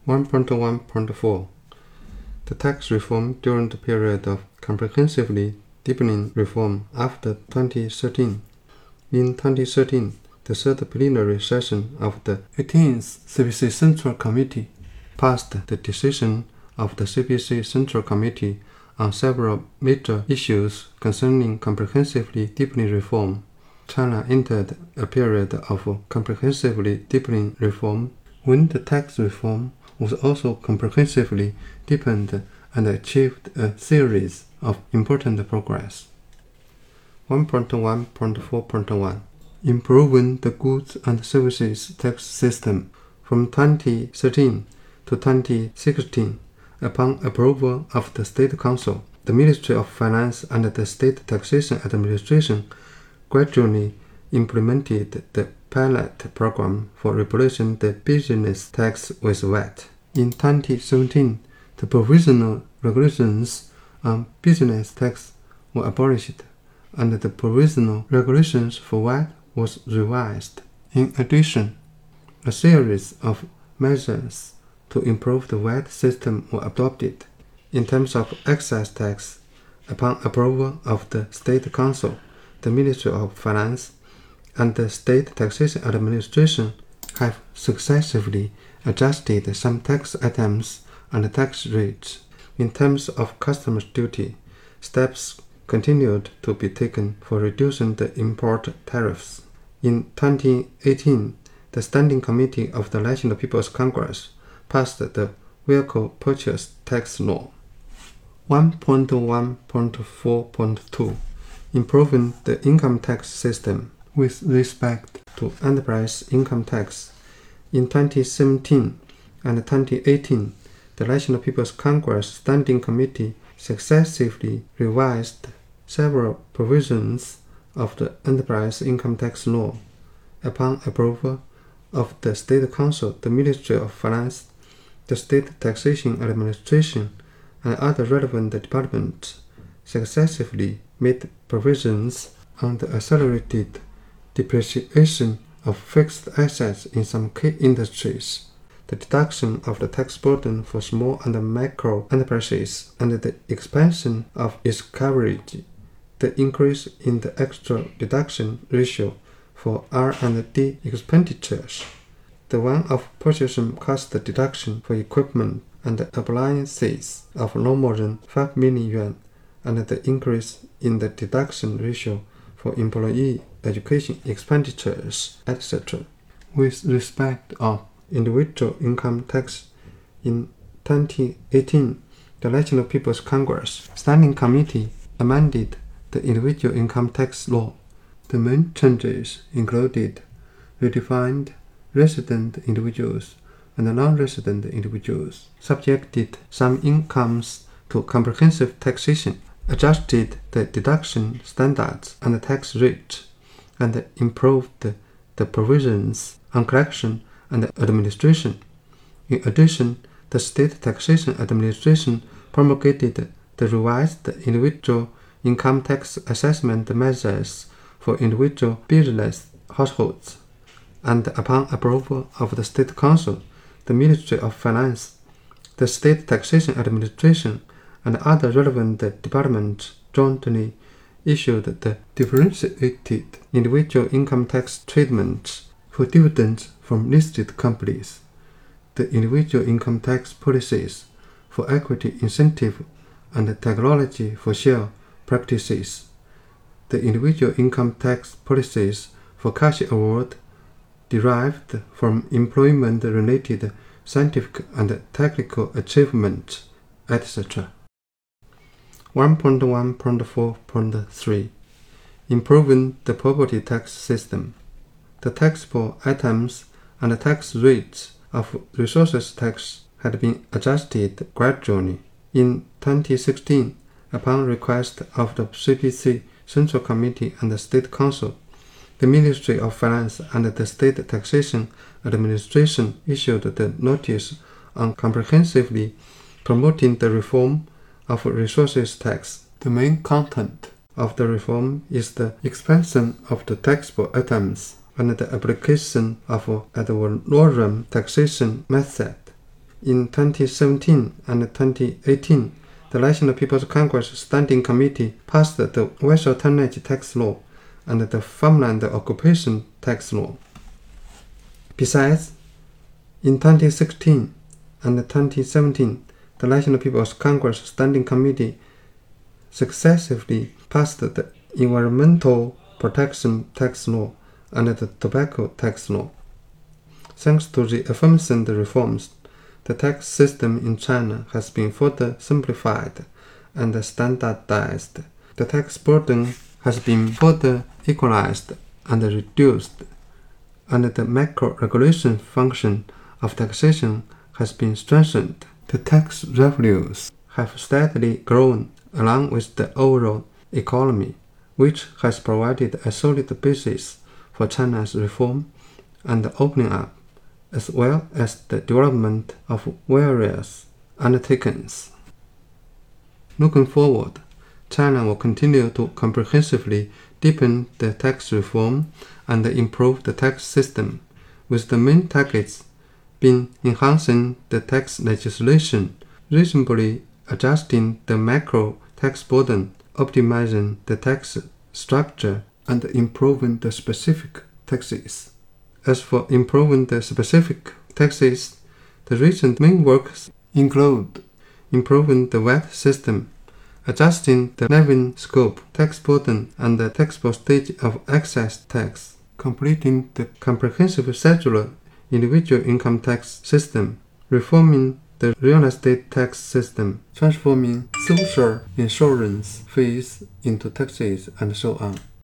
1.1.4 The tax reform during the period of comprehensively deepening reform after 2013. In 2013, the third plenary session of the 18th CPC Central Committee passed the decision of the CPC Central Committee on several major issues concerning comprehensively deepening reform. China entered a period of comprehensively deepening reform when the tax reform was also comprehensively deepened and achieved a series of important progress. 1.1.4.1 Improving the goods and services tax system. From 2013 to 2016, upon approval of the State Council, the Ministry of Finance and the State Taxation Administration gradually implemented the pilot program for replacing the business tax with VAT. In 2017, the provisional regulations on business tax were abolished, and the provisional regulations for VAT was revised. In addition, a series of measures to improve the VAT system were adopted. In terms of excise tax, upon approval of the State Council, the Ministry of Finance and the State Taxation Administration have successively adjusted some tax items and tax rates. In terms of customs duty, steps continued to be taken for reducing the import tariffs. In 2018, the Standing Committee of the National People's Congress passed the Vehicle Purchase Tax Law. 1.1.4.2 Improving the income tax system with respect to enterprise income tax. In 2017 and 2018, the National People's Congress Standing Committee successively revised several provisions of the enterprise income tax law. Upon approval of the State Council, the Ministry of Finance, the State Taxation Administration, and other relevant departments successively made provisions on the accelerated depreciation of fixed assets in some key industries, the deduction of the tax burden for small and micro enterprises, and the expansion of its coverage, the increase in the extra deduction ratio for R&D expenditures, the one-off purchasing cost deduction for equipment and appliances of no more than 5 million yuan, and the increase in the deduction ratio for employee education expenditures, etc. With respect of individual income tax, in 2018, the National People's Congress Standing Committee amended the individual income tax law. The main changes included redefined resident individuals and non-resident individuals, subjected some incomes to comprehensive taxation, adjusted the deduction standards and tax rates, and improved the provisions on collection and administration. In addition, the State Taxation Administration promulgated the revised individual income tax assessment measures for individual business households, and upon approval of the State Council, the Ministry of Finance, the State Taxation Administration, and other relevant departments jointly issued the differentiated individual income tax treatment for dividends from listed companies, the individual income tax policies for equity incentive and technology for share practices, the individual income tax policies for cash award derived from employment-related scientific and technical achievements, etc. 1.1.4.3 Improving the property tax system. The taxable items and tax rates of resources tax had been adjusted gradually. In 2016, upon request of the CPC Central Committee and the State Council, the Ministry of Finance and the State Taxation Administration issued the notice on comprehensively promoting the reform of resources tax. The main content of the reform is the expansion of the taxable items and the application of ad valorem taxation method. In 2017 and 2018, the National People's Congress Standing Committee passed the Vessel Tonnage Tax Law and the Farmland Occupation Tax Law. Besides, in 2016 and 2017, the National People's Congress Standing Committee successively passed the Environmental Protection Tax Law and the Tobacco Tax Law. Thanks to the aforementioned reforms, the tax system in China has been further simplified and standardized. The tax burden has been further equalized and reduced, and the macro-regulation function of taxation has been strengthened. The tax revenues have steadily grown along with the overall economy, which has provided a solid basis for China's reform and opening up, as well as the development of various undertakings. Looking forward, China will continue to comprehensively deepen the tax reform and improve the tax system, with the main targets being enhancing the tax legislation, reasonably adjusting the macro tax burden, optimizing the tax structure, and improving the specific taxes. As for improving the specific taxes, the recent main works include improving the VAT system, adjusting the levying scope, tax burden, and the taxable stage of excess tax, completing the comprehensive circular individual income tax system, reforming the real estate tax system, transforming social insurance fees into taxes, and so on.